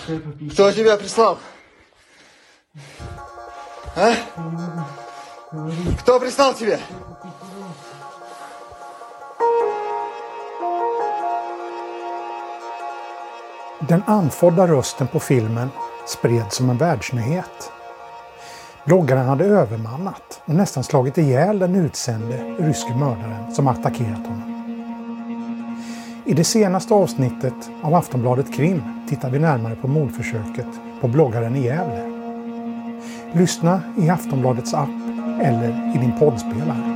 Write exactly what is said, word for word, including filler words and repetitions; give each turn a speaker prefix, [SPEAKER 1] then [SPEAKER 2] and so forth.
[SPEAKER 1] Кто тебя прислал? А? Кто прислал тебя?
[SPEAKER 2] Den andfådda rösten på filmen spreds som en världsnyhet. Bloggaren hade övermannat och nästan slagit ihjäl den utsände ryske mördaren som attackerat honom. I det senaste avsnittet av Aftonbladet Krim tittar vi närmare på mordförsöket på bloggaren i Gävle. Lyssna i Aftonbladets app eller i din poddspelare.